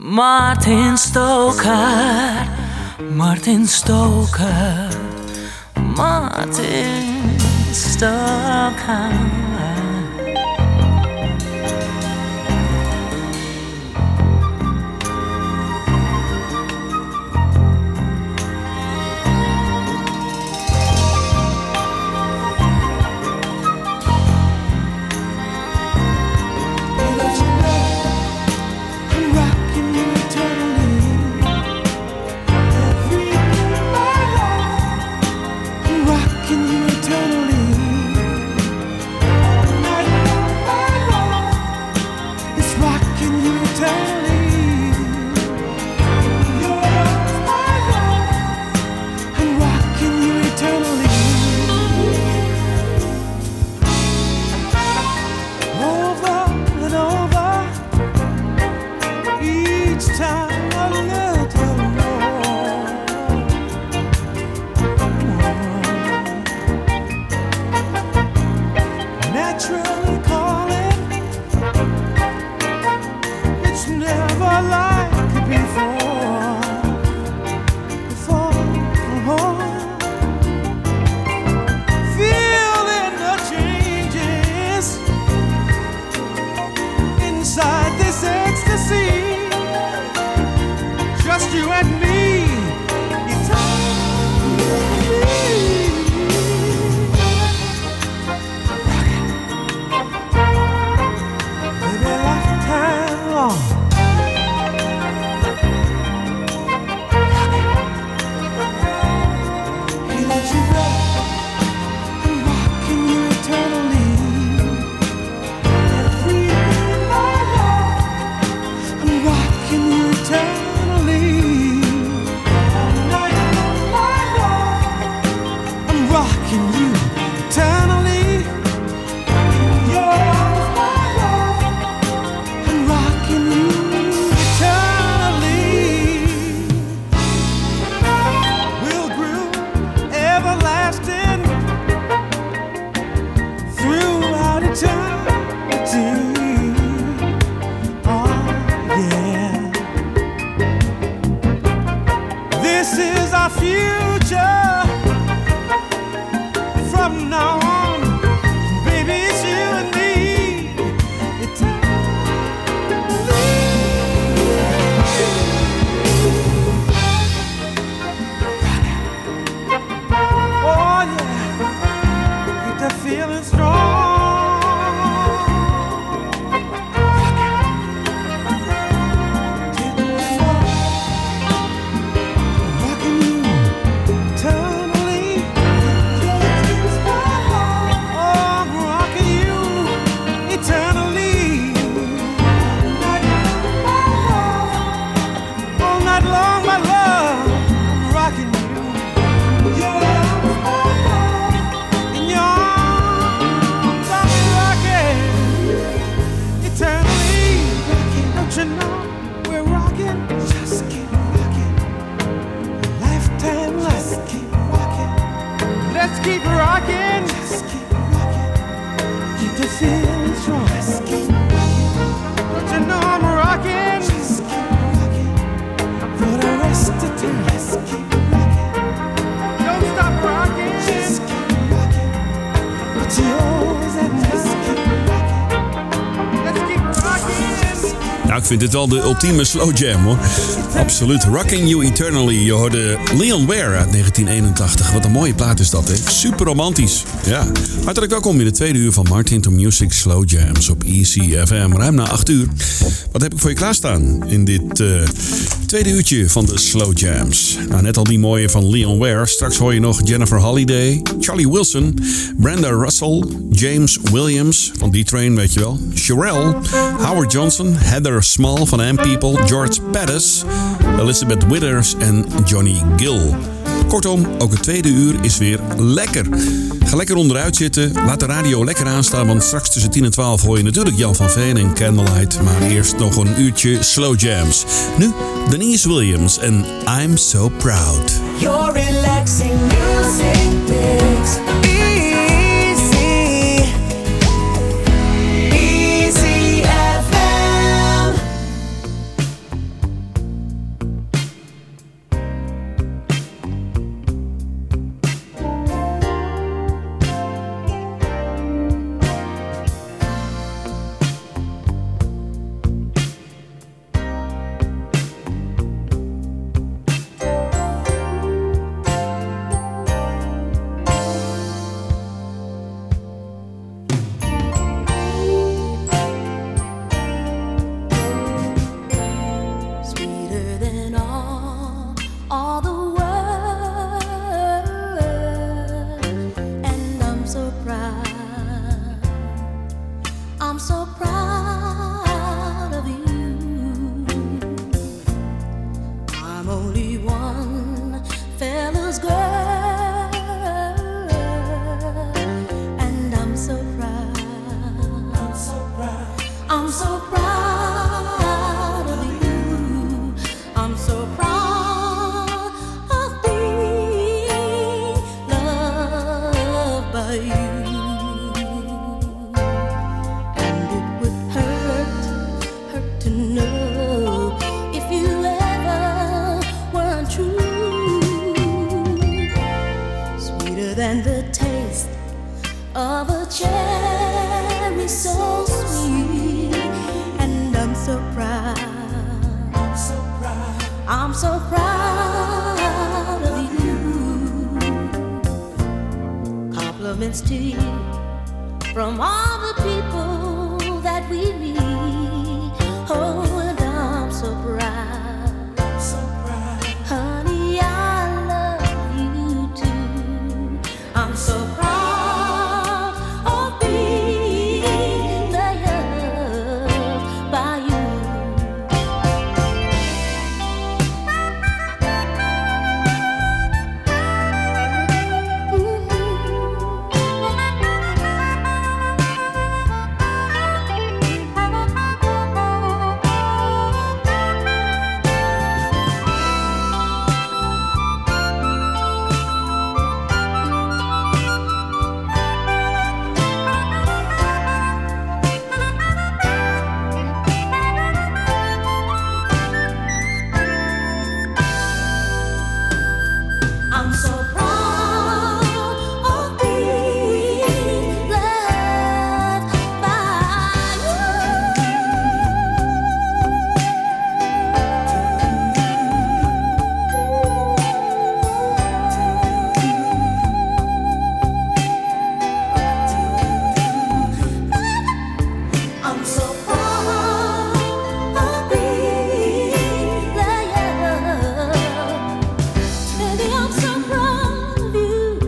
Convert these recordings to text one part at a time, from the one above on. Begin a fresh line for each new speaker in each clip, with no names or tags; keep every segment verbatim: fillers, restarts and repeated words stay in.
Martin Stoker, Martin Stoker, Martin Stoker.
Ik vind dit wel de ultieme slow jam, hoor. Absoluut. Rocking You Eternally. Je hoorde Leon Ware uit negentien eenentachtig. Wat een mooie plaat is dat, hè? Super romantisch. Ja. Hartelijk welkom in de tweede uur van Martin to Music Slow Jams op E C F M. Ruim na acht uur. Wat heb ik voor je klaarstaan in dit uh, tweede uurtje van de Slow Jams? Nou, net al die mooie van Leon Ware. Straks hoor je nog Jennifer Holliday, Charlie Wilson, Brenda Russell, James Williams van D-Train, weet je wel. Sherelle, Howard Johnson, Heather Small van Am People, George Pettis, Elizabeth Withers en Johnny Gill. Kortom, ook het tweede uur is weer lekker. Ga lekker onderuit zitten, laat de radio lekker aanstaan, want straks tussen tien en twaalf hoor je natuurlijk Jan van Veen en Candlelight. Maar eerst nog een uurtje Slow Jams. Nu Denise Williams en I'm So Proud.
Your relaxing music mix.
so proud of being loved by you. And it would hurt, hurt to know if you ever weren't true. Sweeter than the taste of a cherry, so sweet. And I'm so proud, I'm so proud, I'm so proud of you. Compliments to you from all the people that we meet. Oh, and I'm so proud, I'm so proud. Honey, I love you too. I'm so proud of being loved by you. I'm so proud of being loved by you. I'm so proud of being loved. Baby, I'm so proud of you.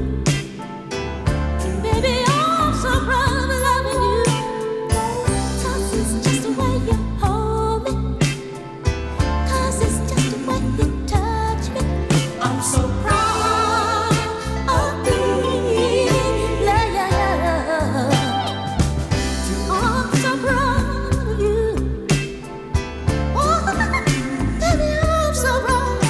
Baby, I'm so proud of loving you. 'Cause it's just the way you hold me. 'Cause it's just the way you touch me. I'm so proud of being loved. I'm so proud of you. Oh, baby, I'm so proud.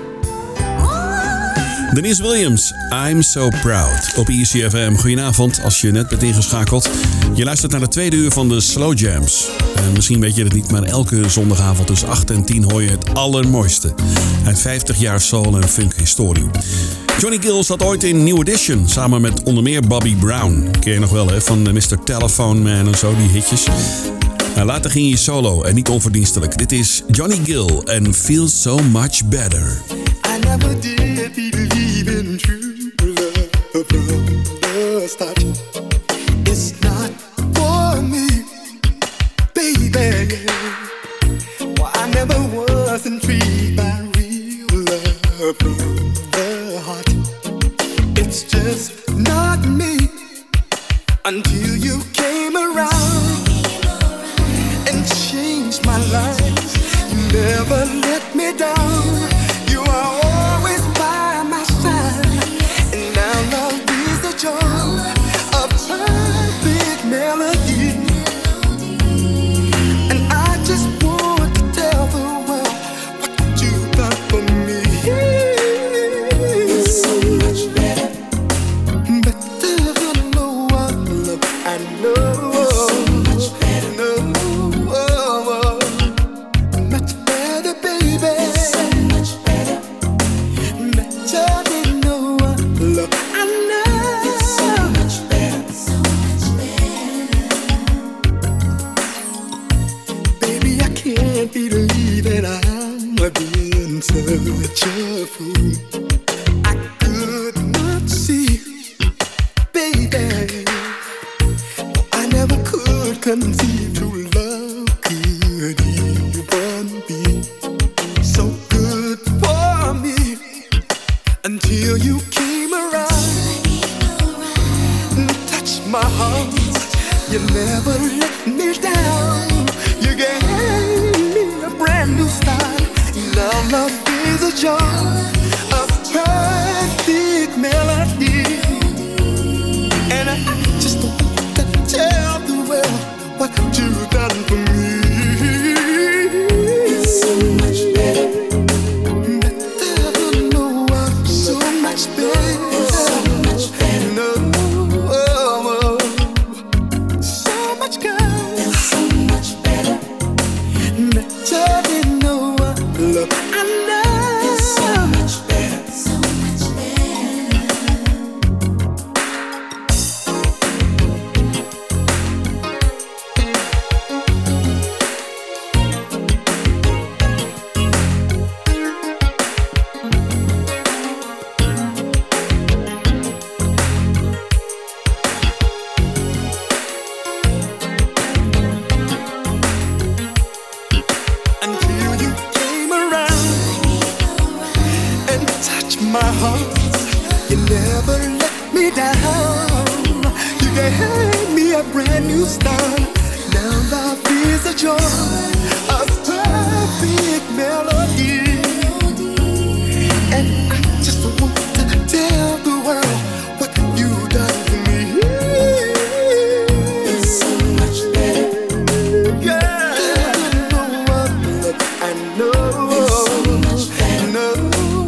Oh.
Denise Williams, I'm So Proud. Op I C F M. Goedenavond, als je net bent ingeschakeld. Je luistert naar de tweede uur van de Slow Jams. En misschien weet je het niet, maar elke zondagavond tussen acht en tien hoor je het allermooiste uit vijftig jaar soul en funk historie. Johnny Gill zat ooit in New Edition, samen met onder meer Bobby Brown. Ken je nog wel, hè, van mister Telephone Man en zo, die hitjes. Nou, later ging hij solo en niet onverdienstelijk. Dit is Johnny Gill en Feel So Much Better.
I never did believe in true love from the start. It's not for me, baby. Well, I never was intrigued by real love from the heart. It's just not me until you came around and changed my life. You never let me down. You are always by my side, and now love is the joy of perfect melody. And I just want to tell the world what you've done for me. It's so much better, better than no other love I know. It's so much better, no, much better, baby. It's so much better. Better than no other love I know. It's so much better, so much better. Baby, I can't believe that I'm being such a fool. I could not see, baby. I never could conceive true love could even be so good for me until you came around and touched my heart. You never let me down. You gave me a brand new start. Now love is a joy of perfect melody. And I just want to tell the world what you've done for me. It's so much better, my heart. You never let me down. You gave me a brand new start. Now life is a joy, a perfect melody. And I just want to tell the world what you done for me. It's so much better. Yeah, no one look, I know. It's so much better. No,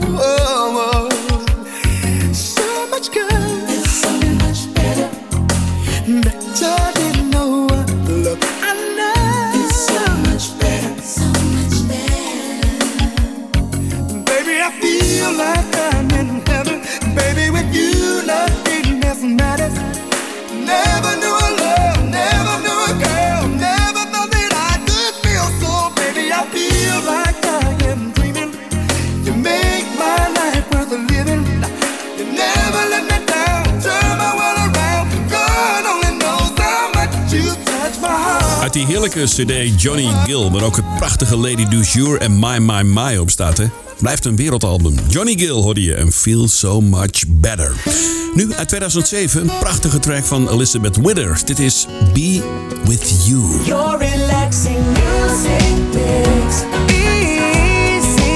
so much good. It's so much better. Better than no one look, I know. It's so much better. So much better. Baby, I feel like I'm in heaven. Baby, with you, nothing else matters. Never knew a love, never knew a girl, never thought that I could feel so. Baby, I feel like I am dreaming. You make my life worth living. You never let me down, turn my world around. God only knows how much you touch my heart.
Uit die heerlijke cd Johnny Gill, waar ook het prachtige Lady Du Jour en My My My op staat, hè? Blijft een wereldalbum. Johnny Gill hoorde je en Feel So Much Better. Nu uit tweeduizend zeven een prachtige track van Elizabeth Withers. Dit is Be With You.
Your relaxing music mix. Easy.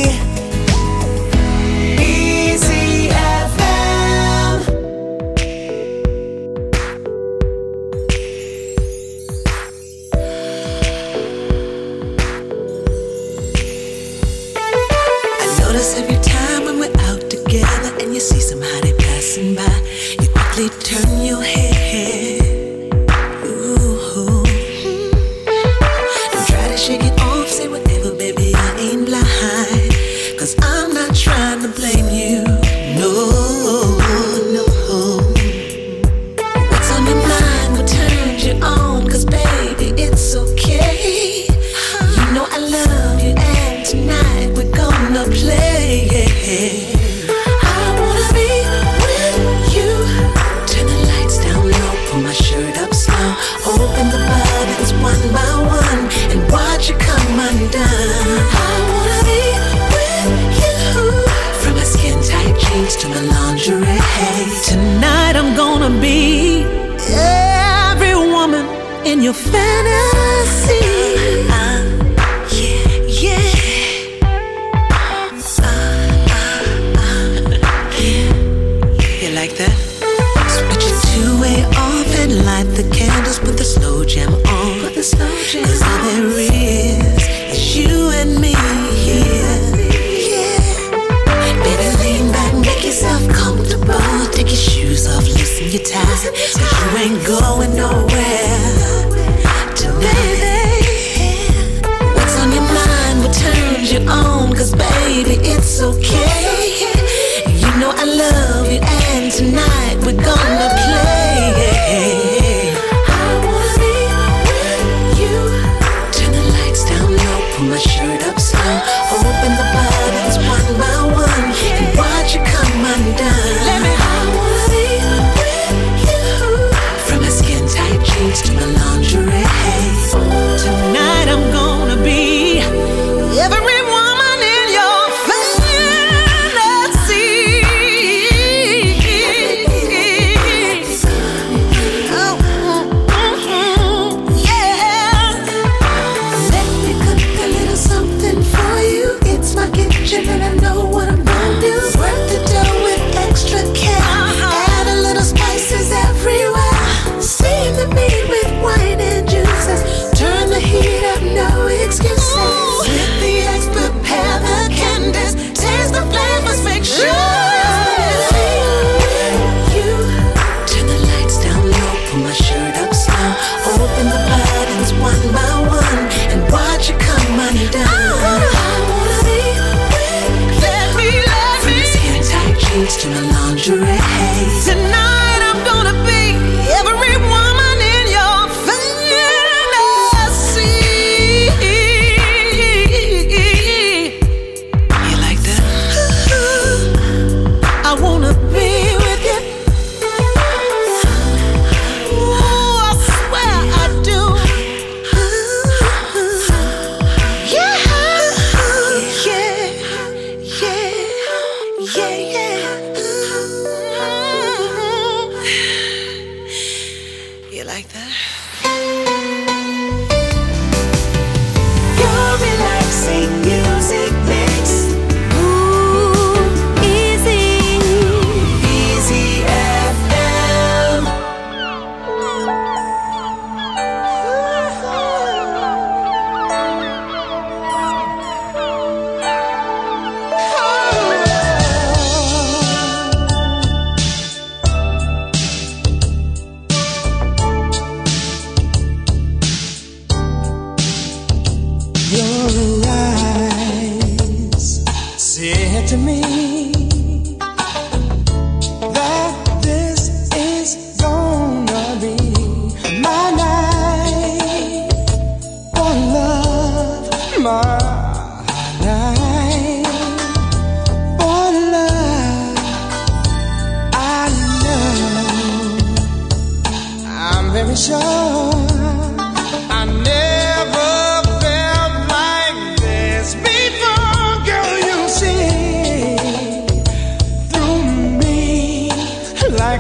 Easy F M.
I notice every time when we're out together and you see somebody passing by, you quickly turn your head. Ooh. Don't try to shake it off, say whatever, baby, I ain't blind. Cause I'm not trying to blame you. No, no. What's on your mind, what turns you on? Cause baby, it's okay. You know I love you and tonight we're gonna play. I wanna be with you. Turn the lights down low, pull my shirt up slow. Open the buttons one by one and watch it come undone. I wanna be with you. From my skin tight jeans to my lingerie. Tonight I'm gonna be every woman in your fantasy. Uh, yeah, yeah. You like that? Switch it two-way off and light the candles. Put the slow jam on. Put the slow jam on. 'Cause all there is is you and me here. Yeah. Baby, lean back, make yourself comfortable. Take your shoes off, loosen your tie. 'Cause you ain't going nowhere tonight. What's on your mind? What turns you on? 'Cause baby, it's okay. You know I love you and tonight we're gonna play. I wanna be with you. Turn the lights down low, pull my shirt up slow. Open the buttons one by one and watch it come undone. I wanna be with you. From my skin tight jeans to my lingerie. Tonight I'm gonna be every woman in your fantasy. Oh, mm-hmm, yeah. Let me cook a little something for you. It's my gift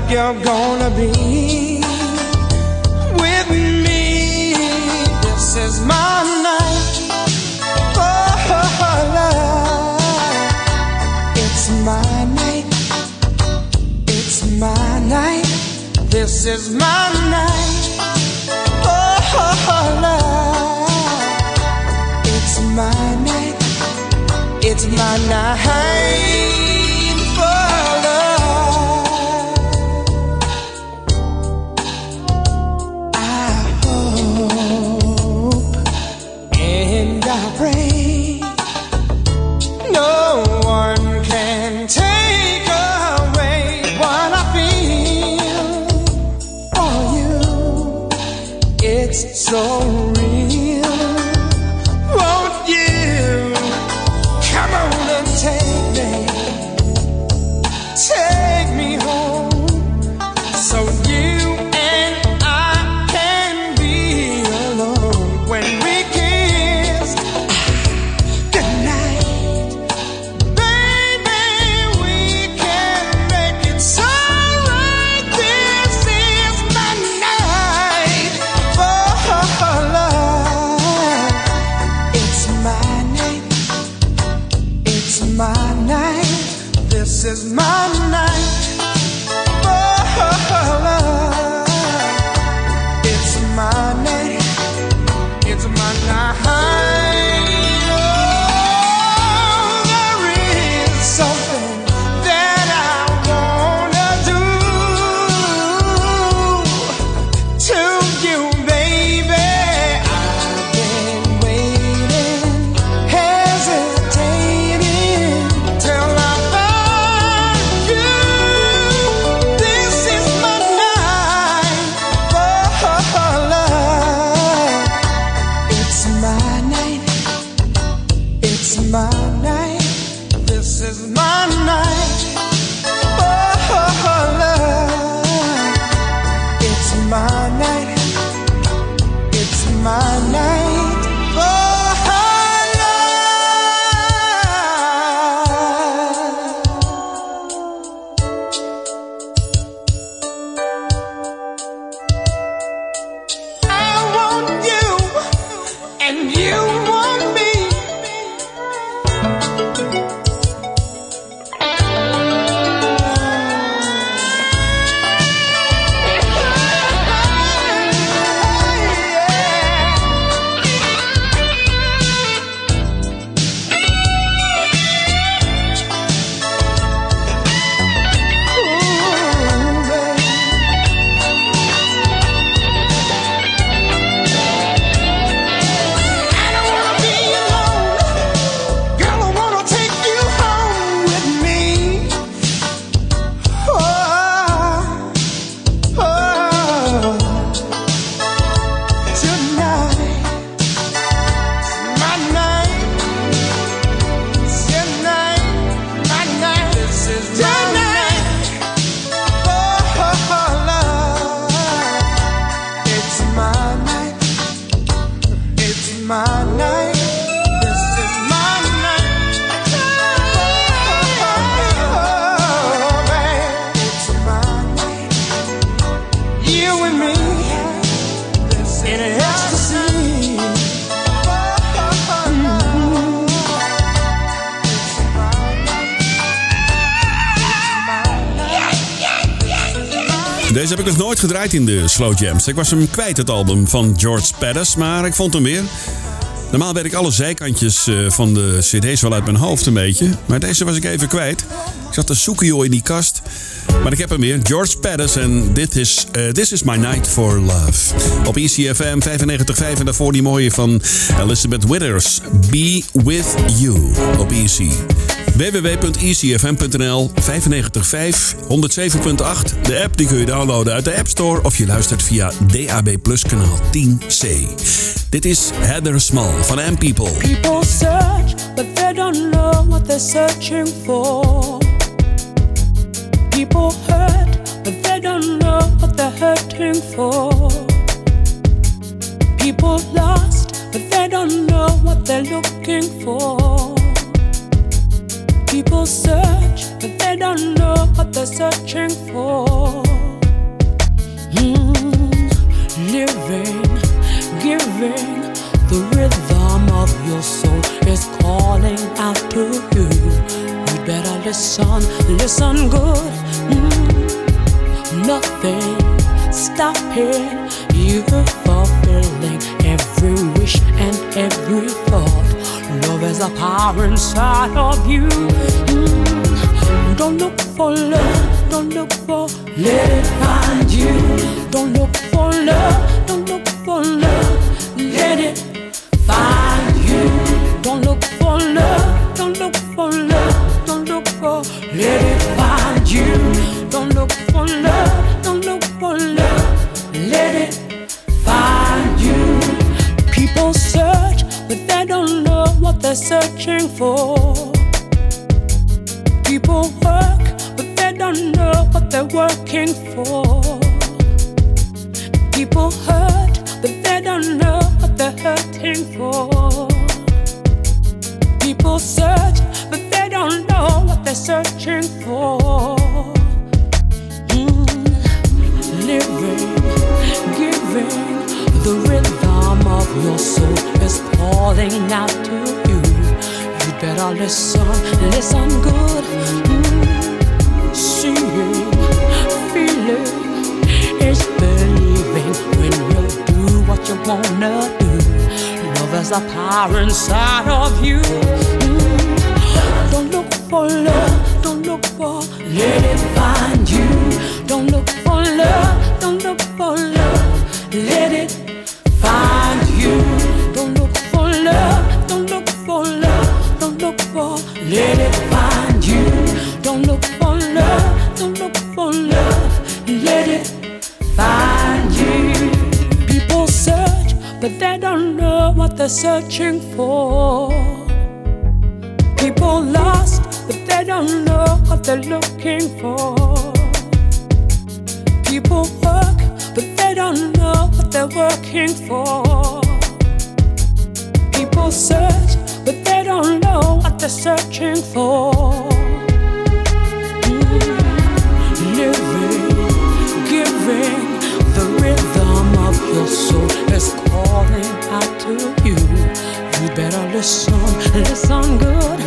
you're gonna be with me. This is my night. Oh, love. It's my night. It's my night. This is my night. Oh, love. It's my night. It's my night. Pray. No one can take away what I feel for you. It's so real. Won't you come on and take me, take me home, so you and I can be alone when we This is my night, oh, love. It's my night, it's my night. Oh, there is something that I wanna do to you, baby. I've been waiting, hesitating till I my night, this is my night, oh, love. It's my night, it's my night, oh, love. I want you, and you want me.
Deze heb ik nog nooit gedraaid in de Slow Jams. Ik was hem kwijt, het album van George Pettis, maar ik vond hem weer. Normaal weet ik alle zijkantjes van de cd's wel uit mijn hoofd een beetje. Maar deze was ik even kwijt. Ik zat te zoeken joh in die kast. Maar ik heb hem weer. George Pettis en This is, uh, This is My Night for Love. Op E C F M vijfennegentig komma vijf en daarvoor die mooie van Elizabeth Withers. Be With You op E C. w w w punt e c f m punt n l vijfennegentig komma vijf, honderdzeven komma acht. De app die kun je downloaden uit de App Store of je luistert via D A B Plus kanaal tien C. Dit is Heather Small van M People.
People search, but they don't know what they're searching for. People hurt, but they don't know what they're hurting for. People lost, but they don't know what they're looking for. People search, but they don't know what they're searching for. your soul is calling out to you. You better listen, listen good. Mm. Nothing stopping you fulfilling every wish and every thought. Love is a power inside of you. Mm. Don't look for love, don't look for, let it find you. Don't look for love, don't look for love, let it find you. Don't look for love, don't look for love, don't look for, let it find you. Don't look for love, don't look for love, let it find you. People search, but they don't know what they're searching for. People work, but they don't know what they're working for. People hurt, but they don't know what they're hurting for. People search, but they don't know what they're searching for. Mm. Living, giving, the rhythm of your soul is calling out to you. You better listen, listen good. Mm. Seeing, feeling is believing when you do what you wanna do. Love is a power inside of you. Mm. Don't look for love, don't look for, let it find you. Don't look for love, don't look for love, let it find you. Don't look for love, don't look for love, don't look for, let it find you. Don't look for love, don't look for love, let it find you. People search, but they don't know what they're searching for. People lost, but they don't know what they're looking for. People work, but they don't know what they're working for. People search, but they don't know what they're searching for. Mm. Living, giving, the rhythm of your soul is calling out to you. You better listen, listen good.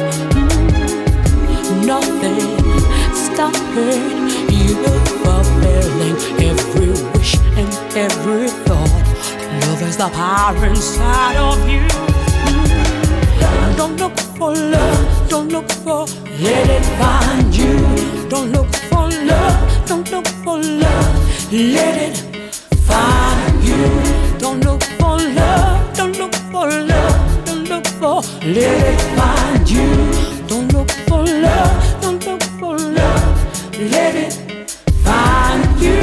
Mm. Nothing stopping you fulfilling every wish and every thought. Love is the power inside of you. Mm. Don't look for love, don't look for, let it find you. Don't look for love, don't look for love, let it find you. Don't look for love, don't look for love, don't look for, let it find you. Don't look for love, don't look for love, let it find you.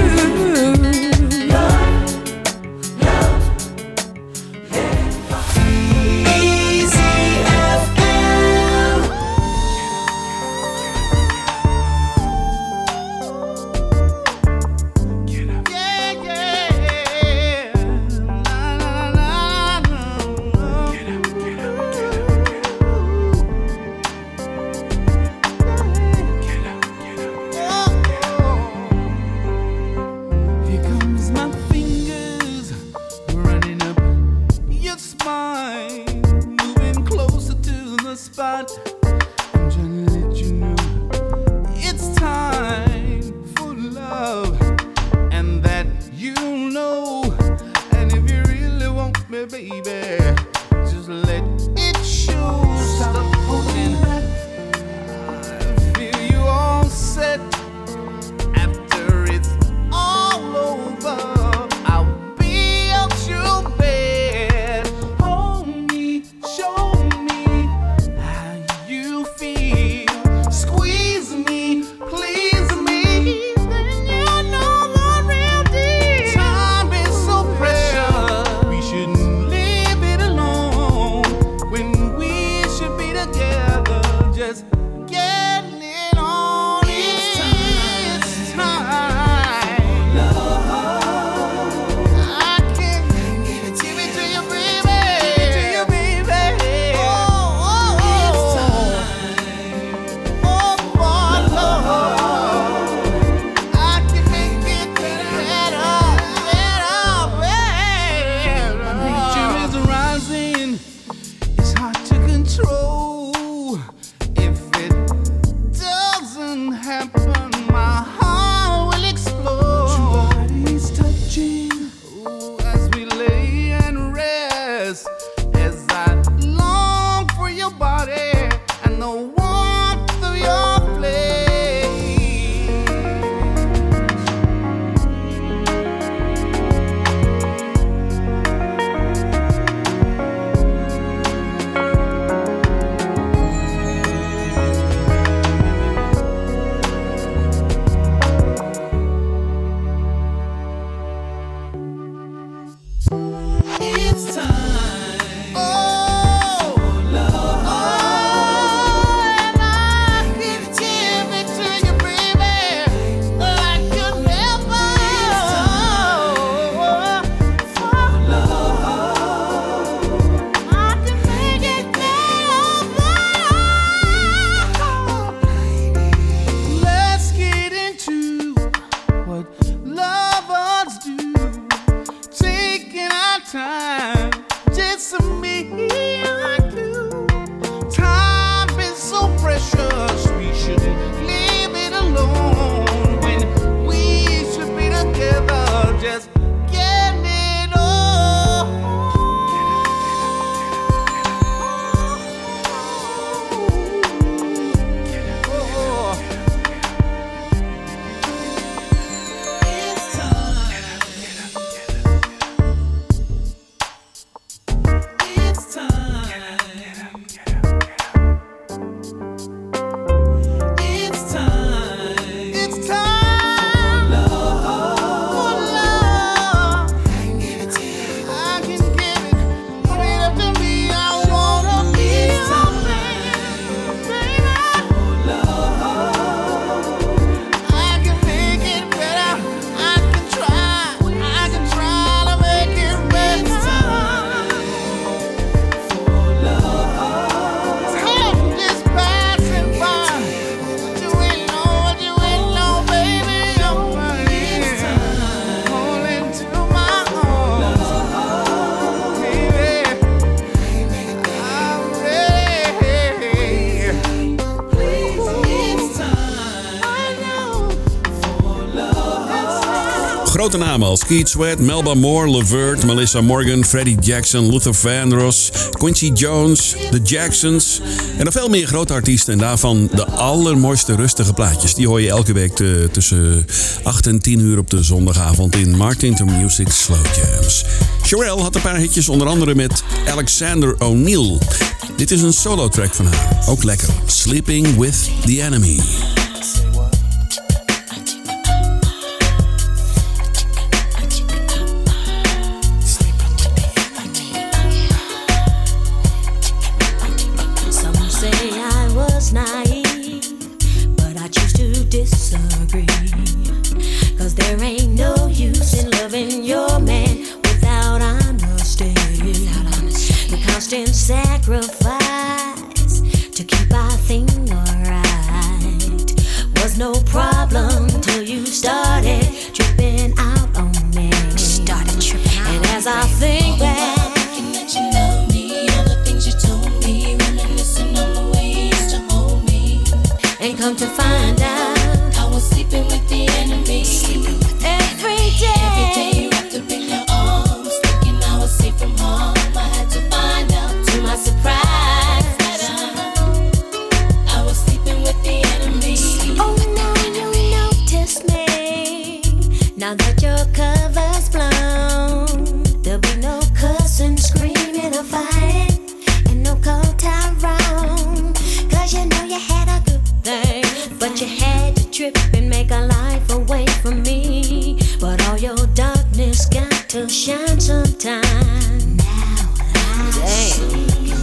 It's hard
grote namen als Keith Sweat, Melba Moore, LeVert, Melissa Morgan, Freddie Jackson, Luther Vandross, Quincy Jones, The Jacksons en nog veel meer grote artiesten. En daarvan de allermooiste rustige plaatjes. Die hoor je elke week te, tussen acht en tien uur op de zondagavond in Martin to Music Slow Jams. Cherelle had een paar hitjes, onder andere met Alexander O'Neal. Dit is een solo track van haar, ook lekker. Sleeping with the Enemy.
Sacrifice to keep our thing alright was no problem till you started tripping out on me. Started tripping out. And as I think back, thinking that you love me, all the things you told me, reminiscing on the way you used to hold me, and come to find out I was sleeping with the enemy. Sleeping with the every enemy. Day. Every day wrapped up in your arms, thinking I was safe from harm. I had to find out. To my surprise, I was sleeping with the enemy. Oh, now you notice me. Now that your cover's blown, there'll be no cussing, screaming, or fighting, and no cold time round. Cause you know you had a good thing, but you had to trip and make a life away from me. But all your darkness got to shine sometime. Now I see.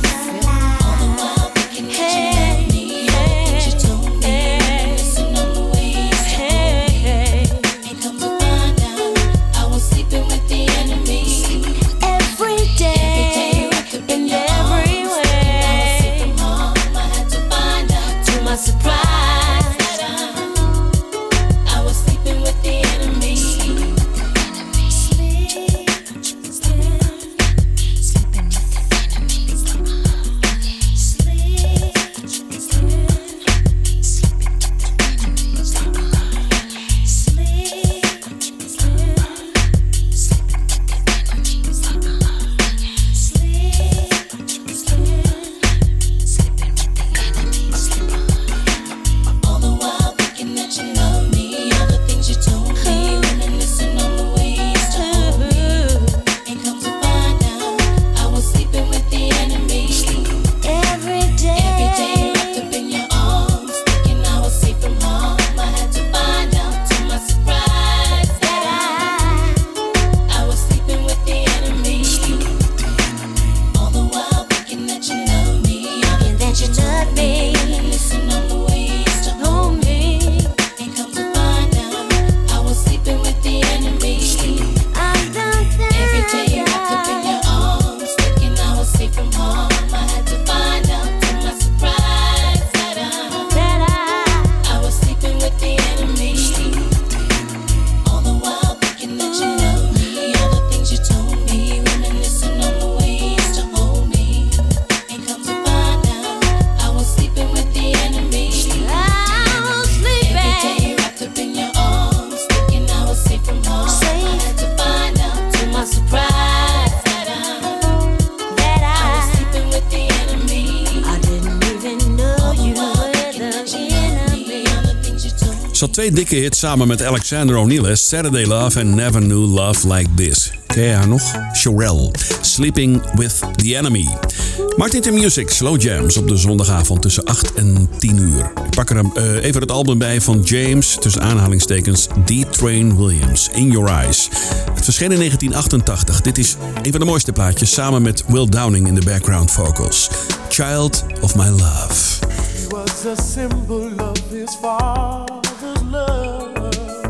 Ze had twee dikke hits samen met Alexander O'Neal, Saturday Love en Never Knew Love Like This. Ken je haar nog? Cherelle, Sleeping with the Enemy. Martin to Music, Slow Jams op de zondagavond tussen acht en tien uur. Ik pak er uh, even het album bij van James, tussen aanhalingstekens D. Train Williams, In Your Eyes. Het verscheen in negentien achtentachtig. Dit is een van de mooiste plaatjes, samen met Will Downing in de background vocals. Child of My Love.
He was a symbol of his father's love,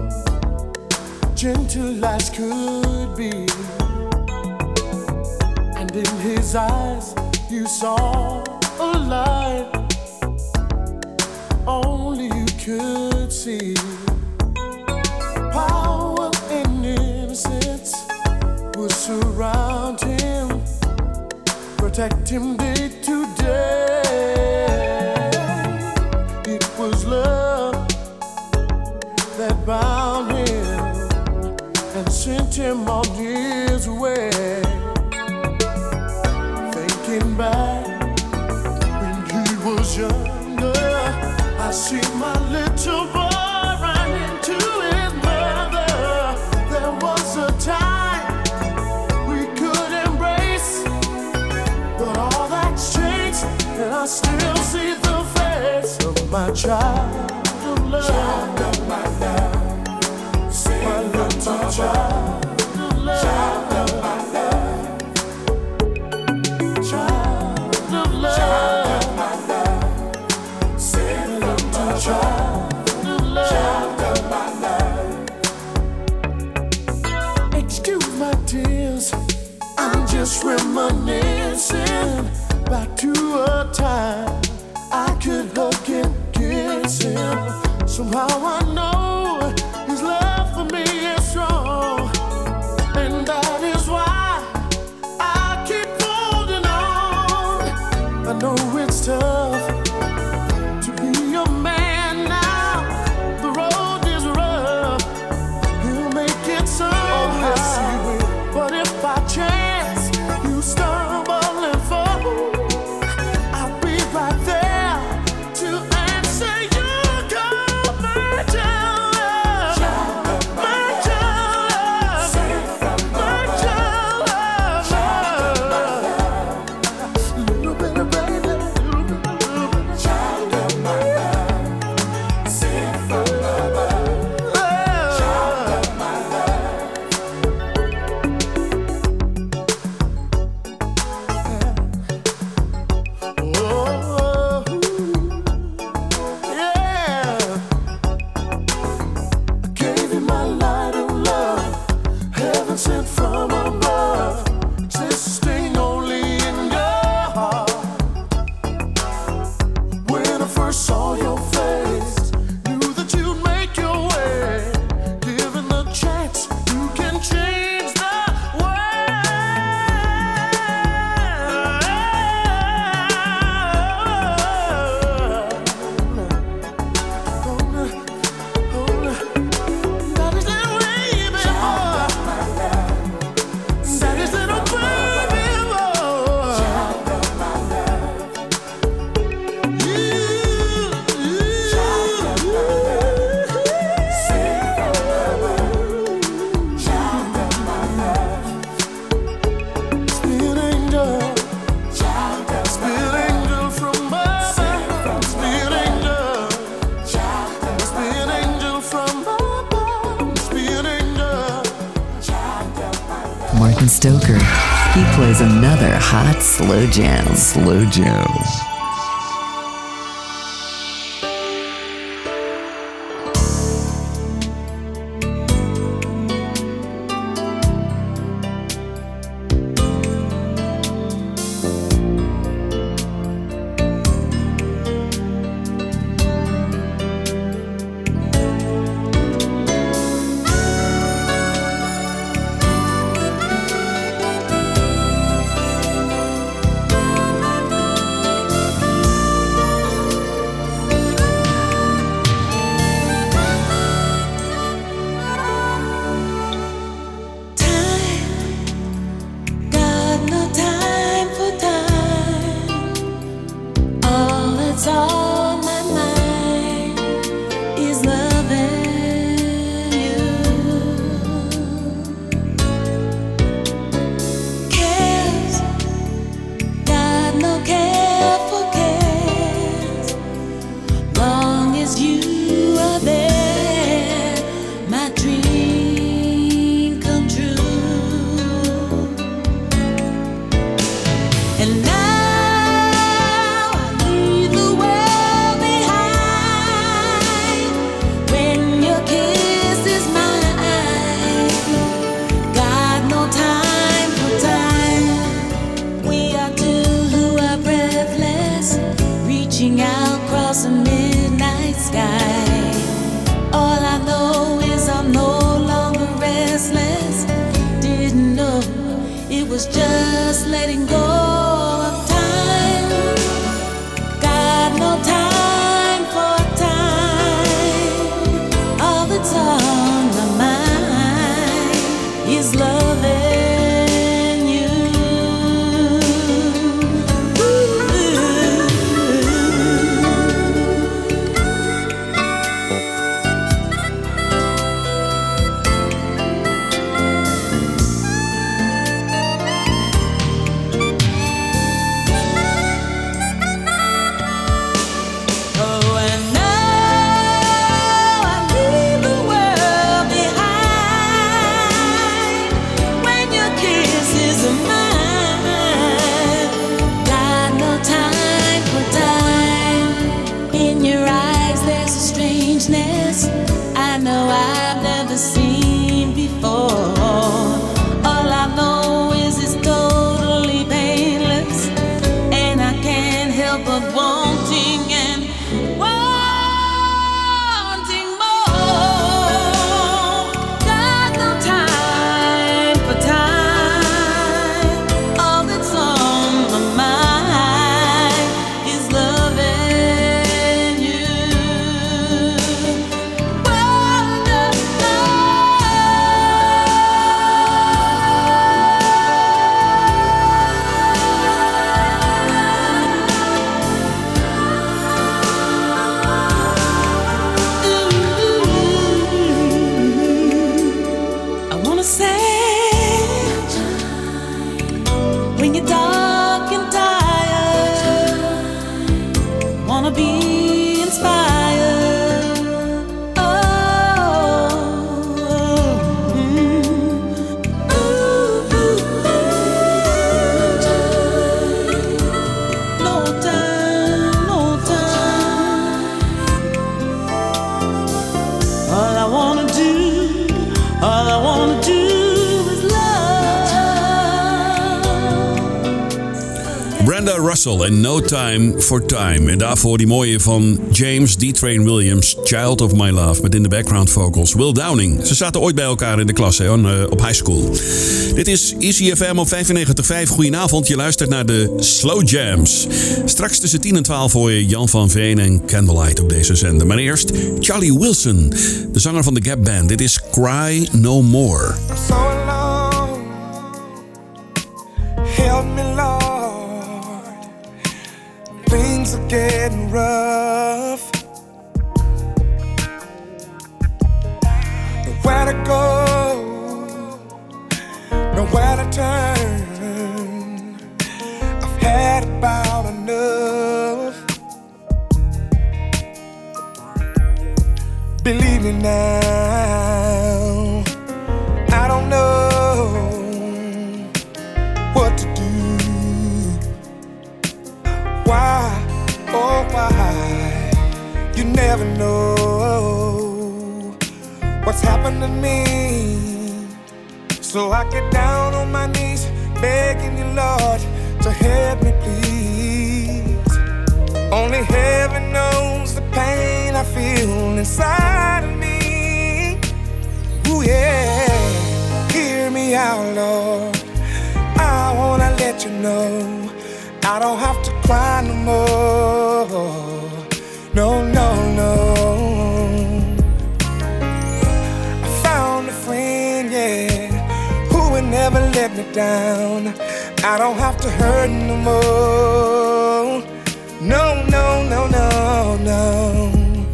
gentle as could be, and in his eyes you saw a light only you could see. Power and innocence would surround him, protect him day to day. It was love that bound him, him on his way. Thinking back when he was younger, I see my little boy run into his mother. There was a time we could embrace, but all that's changed, and I still see the face of my child of love. Child of my love. My little child of love. Child of my love. Child of love. Child of my love. Say little child of love. Child of my love. Excuse my tears, I'm just reminiscing back to a time I could hug and kiss him. Somehow I know his love for me is strong, and that is why I keep holding on. I know it's tough to be a man now. The road is rough. He'll make it somehow. Oh, yes, he will. But if by chance you stumble and fall, I'll be right there to answer your call, my child, my child, my child, little bit of baby, little bit of child of my love, sing from above, child of my love. Oh, yeah. I gave you my light of love, heaven sent from above, existing only in your heart. When I first saw your face, knew that you'd make your way. Given the chance, you can change the
Martin Stoker. He plays another hot slow jam.
Slow jams.
Got no time for time. All that's on my mind is loving you. Cares, got no care for cares. Long as you are there, my dream come true. And now I leave the world behind when your kiss is mine. Got no time for time. We are two who are breathless, reaching out across the midnight sky. All I know is I'm no longer restless. Didn't know it was just letting go of time. Got no time for time. All that's on my mind is love. In your eyes there's a strangeness I know I've never seen before. All I know is it's totally painless, and I can't help but wanting and wanting more. Got no time for time. All that's on my mind is loving you. I wanna say, when you're dark and tired, wanna be inspired. Oh, mm. Ooh, no time, no time. All I wanna do, all I wanna do is love.
Brenda Russell en No Time for Time. En daarvoor die mooie van James D. Train Williams, Child of My Love. Met in de background vocals Will Downing. Ze zaten ooit bij elkaar in de klas hè, op high school. Dit is Easy F M op vijfennegentig komma vijf. Goedenavond, je luistert naar de Slow Jams. Straks tussen tien en twaalf hoor je Jan van Veen en Candlelight op deze zender. Maar eerst Charlie Wilson, de zanger van de Gap Band. Dit is Cry No More.
I'm so alone. Help me, Lord. Things are getting rough. Nowhere to go, nowhere to turn. I've had about enough. Believe me now, I don't know what to do. Why, oh why, you never know what's happened to me. So I get down on my knees, begging you, Lord, to help me please. Only heaven knows the pain I feel inside of me. Ooh yeah, hear me out, Lord. I wanna let you know I don't have to cry no more. No, no, no. I found a friend, yeah, who would never let me down. I don't have to hurt no more. No, no, no, no, no.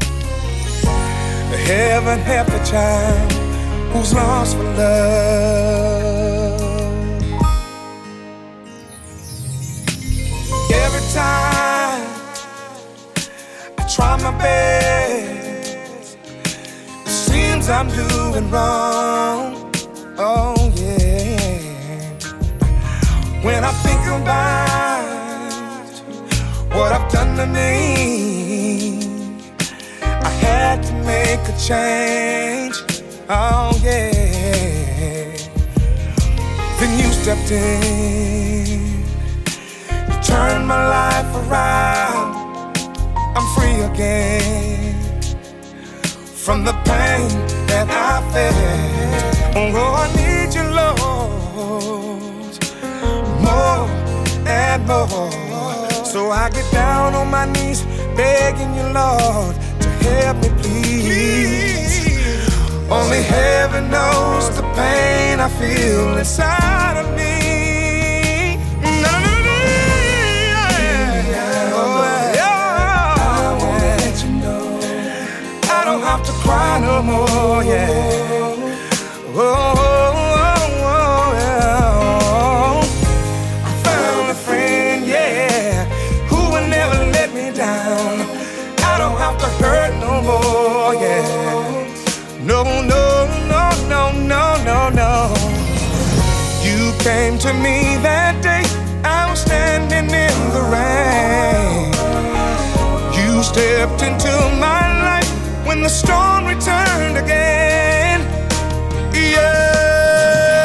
Heaven help a child who's lost for love. Every time I try my best, it seems I'm doing wrong. Oh yeah. When I think about what I've done to me, I had to make a change. Oh yeah. Then you stepped in, turn my life around. I'm free again from the pain that I felt. Oh, I need you, Lord, more and more. So I get down on my knees, begging you, Lord, to help me please. Only heaven knows the pain I feel inside of me. Have to cry no more, yeah. Oh, oh, oh, oh, yeah. I found a friend, yeah, who will never let me down. I don't have to hurt no more, yeah. No, no, no, no, no, no, no. You came to me that day, I was standing in the rain. You
stepped into my life when the storm returned again. Yeah,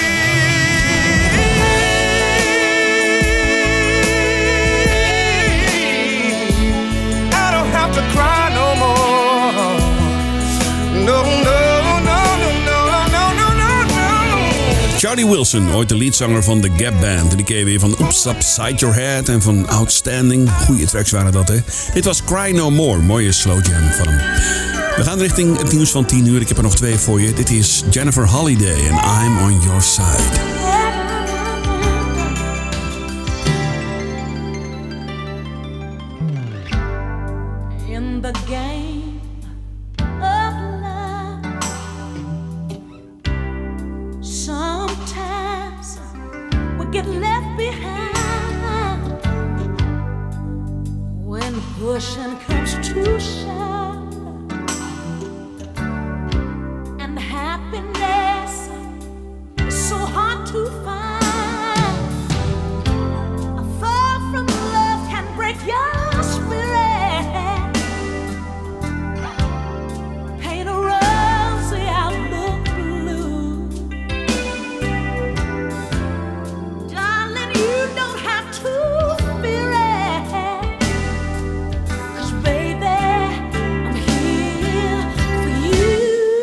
I don't have to cry no more. No, no, no, no, no, no, no, no, no.
Charlie Wilson, ooit de leadzanger van The Gap Band. En die ken je weer van Oops Upside Your Head en van Outstanding. Goeie tracks waren dat, hè. Dit was Cry No More, mooie slow jam van hem. We gaan richting het nieuws van tien uur. Ik heb er nog twee voor je. Dit is Jennifer Holliday en I'm On Your Side.
In the game of love, sometimes we get left behind when pushing comes to shove. Happiness is so hard to find. A fall from love can break your spirit, paint a rosy outlook blue. Darling, you don't have to fear it, 'cause baby, I'm here for you.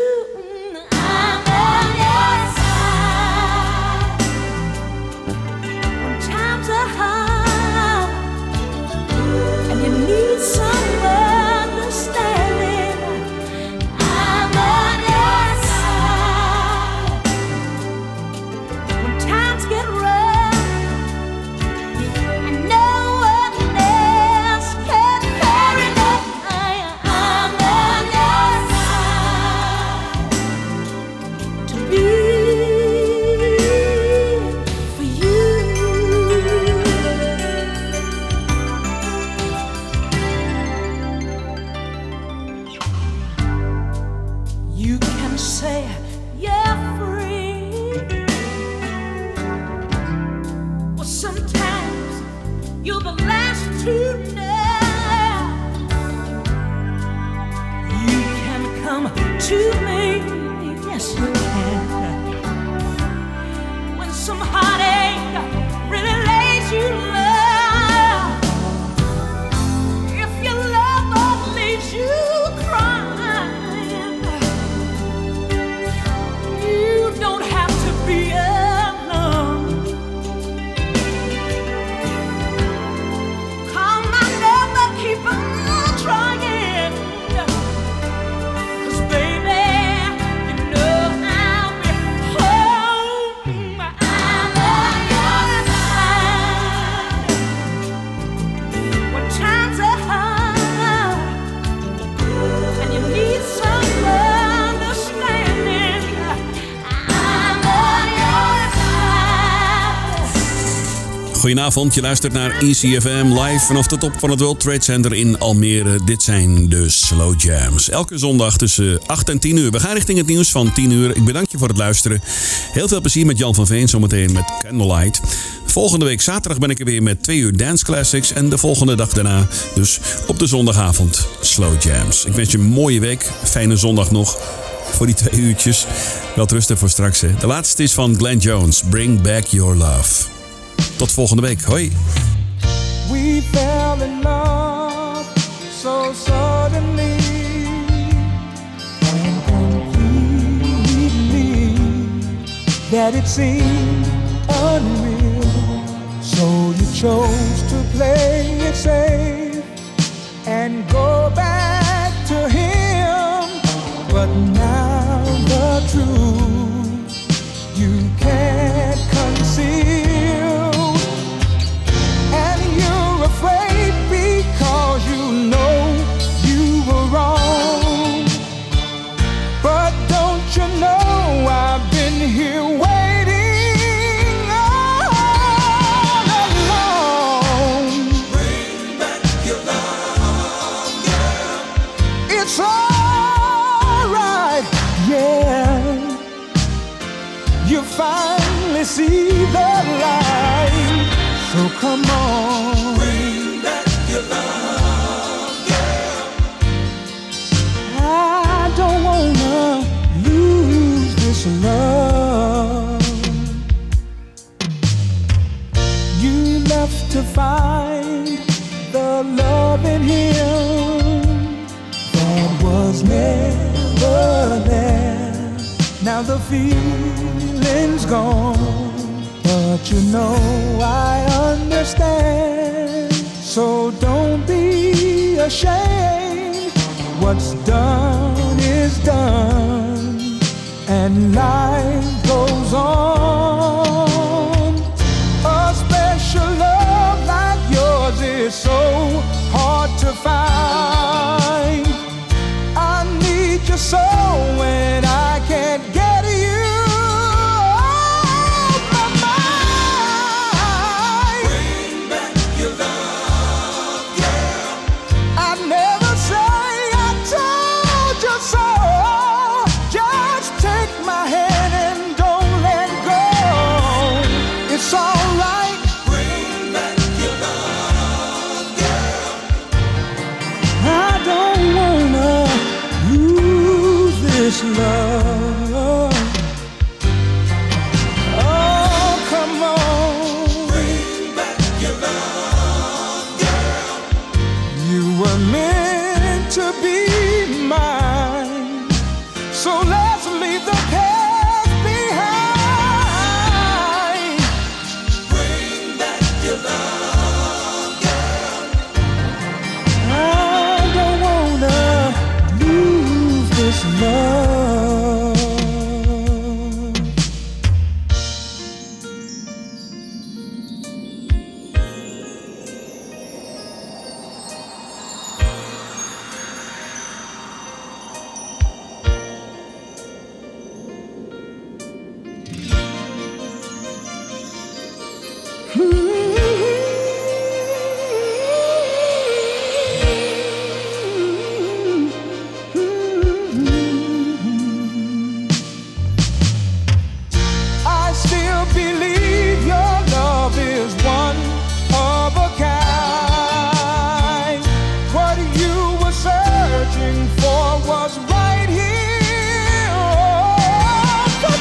Goedenavond, je luistert naar E C F M live vanaf de top van het World Trade Center in Almere. Dit zijn de Slow Jams. Elke zondag tussen acht en tien uur. We gaan richting het nieuws van tien uur. Ik bedank je voor het luisteren. Heel veel plezier met Jan van Veen zometeen met Candlelight. Volgende week zaterdag ben ik er weer met twee uur Dance Classics. En de volgende dag daarna, dus op de zondagavond, Slow Jams. Ik wens je een mooie week. Fijne zondag nog. Voor die twee uurtjes. Wel rusten voor straks, hè. De laatste is van Glenn Jones. Bring Back Your Love. Tot volgende week. Hoi.
We fell in love so suddenly and completely that it seemed unreal. So you chose to play it safe and go back to him. But now the truth you can't conceal. Afraid because you know you were wrong. But don't you know I've been here waiting all along. Bring back your love, yeah. It's alright, yeah. You finally see the light. So come on. Bring back your love, yeah.
this love. You left to find the love in him that was never there. Now the feeling's gone, but you know I understand. So don't be ashamed. What's done is done, and life goes on. A special love like yours is so hard to find. I need you so when I can't get you off my mind. Bring back your love, girl. I never say I told you so. Just take my hand and don't let go. It's all right. Bring back your love, girl. I don't wanna lose this love. Oh, come on. Bring back your love, girl. You were meant to be mine. So let's leave the past behind. Bring back your love, girl. I don't wanna lose this love. I still believe your love is one of a kind. What you were searching for was right here all the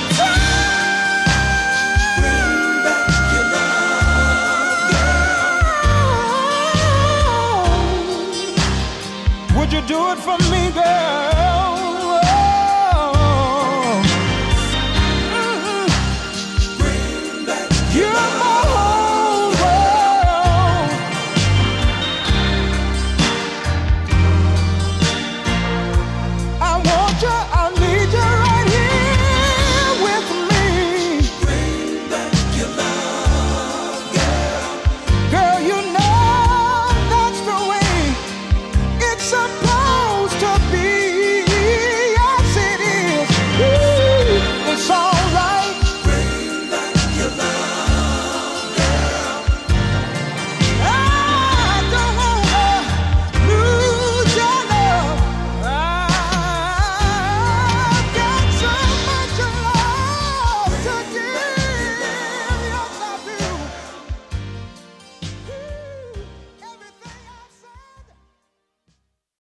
time. Bring back your love, girl. Would you do it for me, girl?